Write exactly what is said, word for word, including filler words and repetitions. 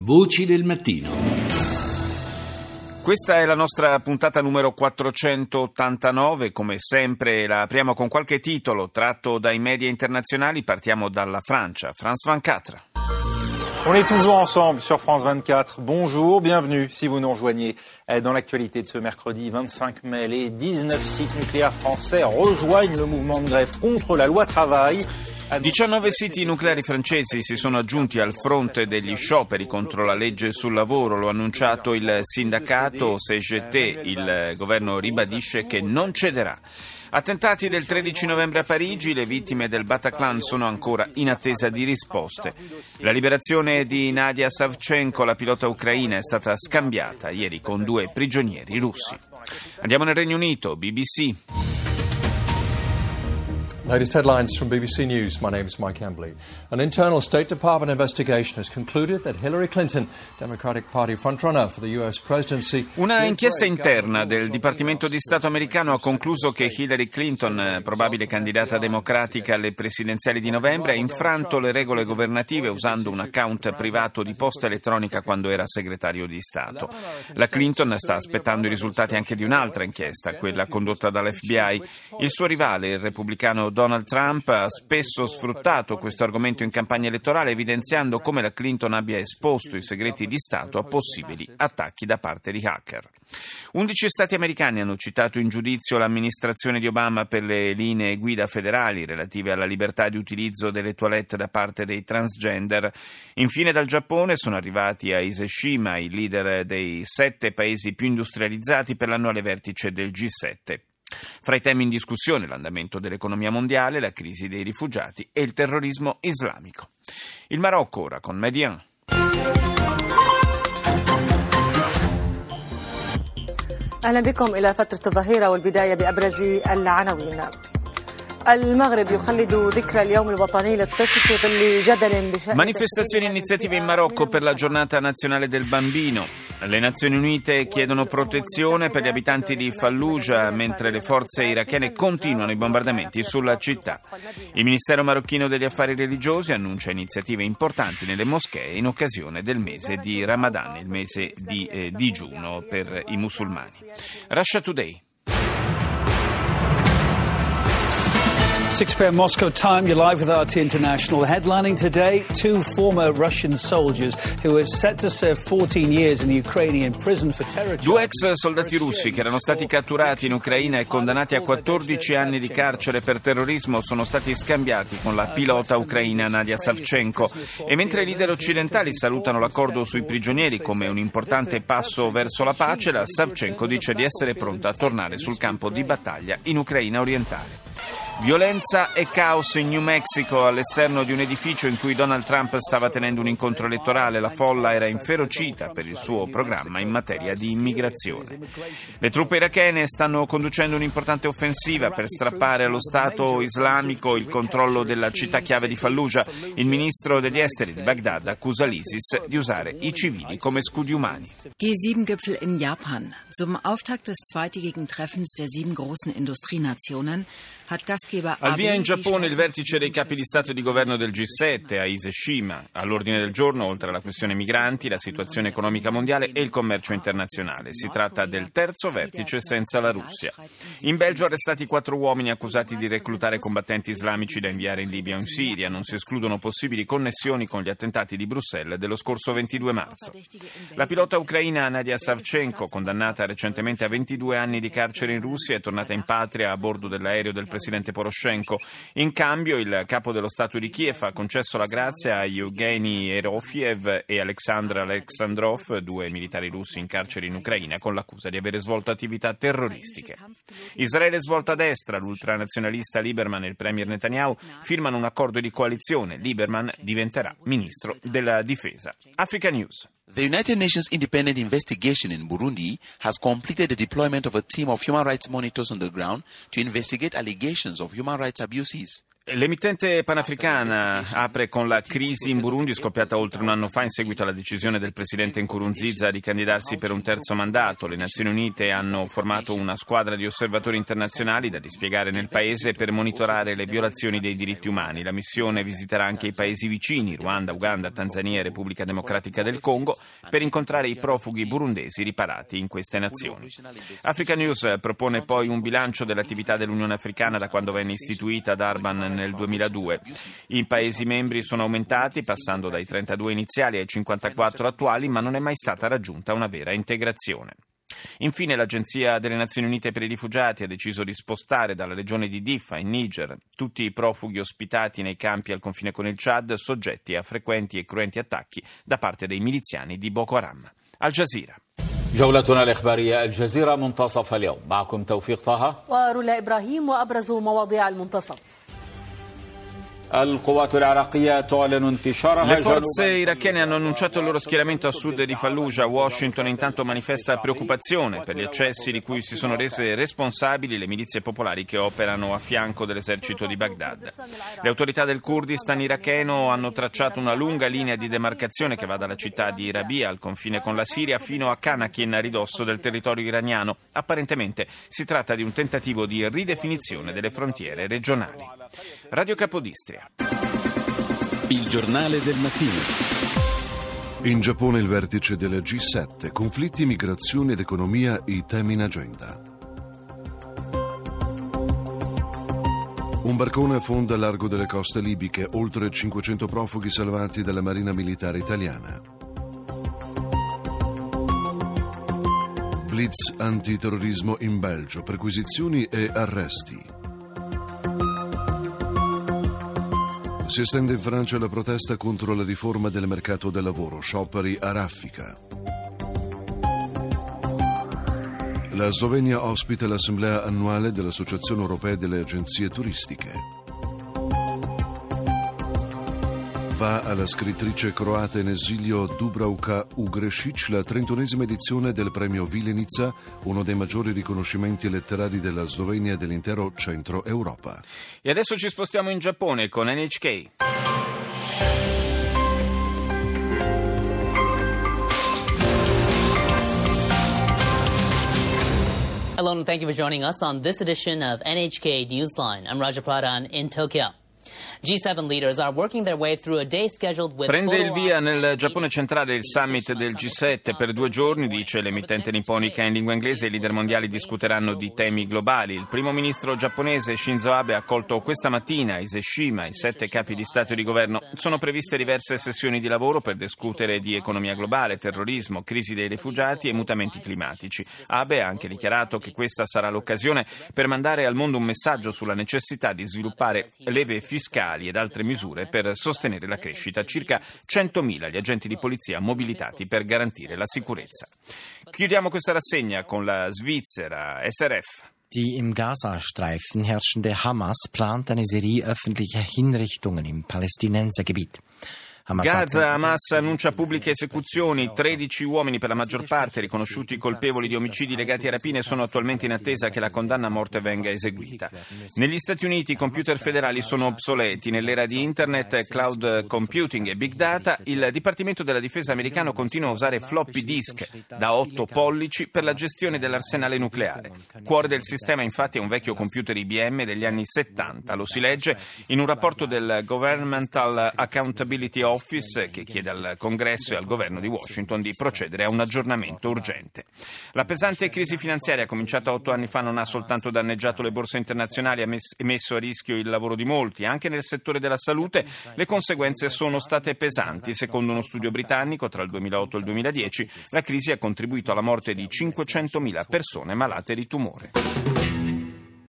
Voci del mattino. Questa è la nostra puntata numero quattrocentottantanove, come sempre la apriamo con qualche titolo tratto dai media internazionali. Partiamo dalla Francia. France vingt-quatre. On est toujours ensemble sur France vingt-quatre. Bonjour, bienvenue si vous nous rejoignez dans l'actualité de ce mercredi vingt-cinq mai. Les dix-neuf sites nucléaires français rejoignent le mouvement de grève contre la loi travail. diciannove siti nucleari francesi si sono aggiunti al fronte degli scioperi contro la legge sul lavoro, lo ha annunciato il sindacato C G T. Il governo ribadisce che non cederà. Attentati del tredici novembre a Parigi, le vittime del Bataclan sono ancora in attesa di risposte. La liberazione di Nadia Savchenko, la pilota ucraina, è stata scambiata ieri con due prigionieri russi. Andiamo nel Regno Unito, B B C. Latest headlines from B B C News. My name is Mike Embley. An internal State Department investigation has concluded that Hillary Clinton, Democratic Party frontrunner for the U S presidency... Una inchiesta interna del Dipartimento di Stato americano ha concluso che Hillary Clinton, probabile candidata democratica alle presidenziali di novembre, ha infranto le regole governative usando un account privato di posta elettronica quando era segretario di Stato. La Clinton sta aspettando i risultati anche di un'altra inchiesta, quella condotta dall'F B I. Il suo rivale, il repubblicano Donald Trump, ha spesso sfruttato questo argomento in campagna elettorale, evidenziando come la Clinton abbia esposto i segreti di Stato a possibili attacchi da parte di hacker. undici stati americani hanno citato in giudizio l'amministrazione di Obama per le linee guida federali relative alla libertà di utilizzo delle toilette da parte dei transgender. Infine dal Giappone sono arrivati a Ise-Shima i leader dei sette paesi più industrializzati per l'annuale vertice del G sette. Fra i temi in discussione l'andamento dell'economia mondiale, la crisi dei rifugiati e il terrorismo islamico. Il Marocco ora con Median. أهلا بكم إلى فترة الظهيرة والبداية بأبرز العناوين. Manifestazioni e iniziative in Marocco per la giornata nazionale del bambino. Le Nazioni Unite chiedono protezione per gli abitanti di Fallujah mentre le forze irachene continuano i bombardamenti sulla città. Il Ministero marocchino degli affari religiosi annuncia iniziative importanti nelle moschee in occasione del mese di Ramadan, il mese di eh, digiuno per i musulmani. Russia Today. six p.m. Moscow time, you're live with R T International. Headlining today, two former Russian soldiers who are set to serve fourteen years in the Ukrainian prison for terror. Due ex soldati russi che erano stati catturati in Ucraina e condannati a quattordici anni di carcere per terrorismo sono stati scambiati con la pilota ucraina Nadia Savchenko. E mentre i leader occidentali salutano l'accordo sui prigionieri come un importante passo verso la pace, la Savchenko dice di essere pronta a tornare sul campo di battaglia in Ucraina orientale. Violenza e caos in New Mexico all'esterno di un edificio in cui Donald Trump stava tenendo un incontro elettorale. La folla era inferocita per il suo programma in materia di immigrazione. Le truppe irachene stanno conducendo un'importante offensiva per strappare allo Stato islamico il controllo della città chiave di Fallujah. Il ministro degli esteri di Baghdad accusa l'ISIS di usare i civili come scudi umani. G sieben Gipfel in Japan. Zum Auftakt des zweitägigen Treffens der sieben großen Industrienationen hat Gastgeber Al via in Giappone il vertice dei capi di Stato e di governo del G sette a Ise-Shima. All'ordine del giorno, oltre alla questione migranti, la situazione economica mondiale e il commercio internazionale. Si tratta del terzo vertice senza la Russia. In Belgio arrestati quattro uomini accusati di reclutare combattenti islamici da inviare in Libia o in Siria. Non si escludono possibili connessioni con gli attentati di Bruxelles dello scorso ventidue marzo. La pilota ucraina Nadia Savchenko, condannata recentemente a ventidue anni di carcere in Russia, è tornata in patria a bordo dell'aereo del presidente Poroshenko. In cambio il capo dello Stato di Kiev ha concesso la grazia a Yevgeny Erofiev e Alexandr Alexandrov, due militari russi in carcere in Ucraina con l'accusa di avere svolto attività terroristiche. Israele svolta a destra, l'ultranazionalista Lieberman e il premier Netanyahu firmano un accordo di coalizione. Lieberman diventerà ministro della difesa. Africa News. The United Nations Independent Investigation in Burundi has completed the deployment of a team of human rights monitors on the ground to investigate allegations of human rights abuses. L'emittente panafricana apre con la crisi in Burundi scoppiata oltre un anno fa in seguito alla decisione del presidente Nkurunziza di candidarsi per un terzo mandato. Le Nazioni Unite hanno formato una squadra di osservatori internazionali da dispiegare nel paese per monitorare le violazioni dei diritti umani. La missione visiterà anche i paesi vicini, Ruanda, Uganda, Tanzania e Repubblica Democratica del Congo, per incontrare i profughi burundesi riparati in queste nazioni. Africa News propone poi un bilancio dell'attività dell'Unione Africana da quando venne istituita ad Durban nel duemiladue. I Paesi membri sono aumentati, passando dai trentadue iniziali ai cinquantaquattro attuali, ma non è mai stata raggiunta una vera integrazione. Infine, l'Agenzia delle Nazioni Unite per i Rifugiati ha deciso di spostare dalla regione di Diffa, in Niger, tutti i profughi ospitati nei campi al confine con il Chad, soggetti a frequenti e cruenti attacchi da parte dei miliziani di Boko Haram. Al Jazeera. جولتنا الإخبارية الجزيرة منتصف اليوم معكم توفيق طه ورولا إبراهيم وأبرز مواضيع المنتصف. Le forze irachene hanno annunciato il loro schieramento a sud di Fallujah. Washington intanto manifesta preoccupazione per gli eccessi di cui si sono rese responsabili le milizie popolari che operano a fianco dell'esercito di Baghdad. Le autorità del Kurdistan iracheno hanno tracciato una lunga linea di demarcazione che va dalla città di Rabia al confine con la Siria fino a Kanakin, a ridosso del territorio iraniano. Apparentemente si tratta di un tentativo di ridefinizione delle frontiere regionali. Radio Capodistria. Il giornale del mattino. In Giappone il vertice del G sette, conflitti, migrazione ed economia, i temi in agenda. Un barcone affonda a largo delle coste libiche, oltre cinquecento profughi salvati dalla Marina Militare Italiana. Blitz antiterrorismo in Belgio, perquisizioni e arresti. Si estende in Francia la protesta contro la riforma del mercato del lavoro, scioperi a raffica. La Slovenia ospita l'assemblea annuale dell'Associazione Europea delle Agenzie Turistiche. Va alla scrittrice croata in esilio Dubravka Ugrešić la trentunesima edizione del premio Vilenica, uno dei maggiori riconoscimenti letterari della Slovenia e dell'intero centro Europa. E adesso ci spostiamo in Giappone con N H K. Hello and thank you for joining us on this edition of N H K Newsline. I'm Raja Pradhan in Tokyo. G seven leaders are working their way through a day scheduled with Prende il via nel Giappone centrale il summit del G sette per due giorni, dice l'emittente nipponica in lingua inglese. I leader mondiali discuteranno di temi globali. Il primo ministro giapponese Shinzo Abe ha accolto questa mattina a Iseshima i sette capi di Stato e di governo. Sono previste diverse sessioni di lavoro per discutere di economia globale, terrorismo, crisi dei rifugiati e mutamenti climatici. Abe ha anche dichiarato che questa sarà l'occasione per mandare al mondo un messaggio sulla necessità di sviluppare leve fiscali ed altre misure per sostenere la crescita. Circa centomila gli agenti di polizia mobilitati per garantire la sicurezza. Chiudiamo questa rassegna con la Svizzera. S R F. Die im Gazastreifen herrschende Hamas plant eine Serie öffentlicher Hinrichtungen im Palästinensergebiet. Gaza, Hamas annuncia pubbliche esecuzioni. tredici uomini, per la maggior parte riconosciuti colpevoli di omicidi legati a rapine, sono attualmente in attesa che la condanna a morte venga eseguita. Negli Stati Uniti i computer federali sono obsoleti. Nell'era di internet, cloud computing e big data, il Dipartimento della Difesa americano continua a usare floppy disk da otto pollici per la gestione dell'arsenale nucleare. Cuore del sistema, infatti, è un vecchio computer I B M degli anni settanta. Lo si legge in un rapporto del Governmental Accountability Office che chiede al Congresso e al governo di Washington di procedere a un aggiornamento urgente. La pesante crisi finanziaria cominciata otto anni fa non ha soltanto danneggiato le borse internazionali, ha messo a rischio il lavoro di molti. Anche nel settore della salute le conseguenze sono state pesanti. Secondo uno studio britannico, tra il duemilaotto e il duemiladieci, la crisi ha contribuito alla morte di cinquecentomila persone malate di tumore.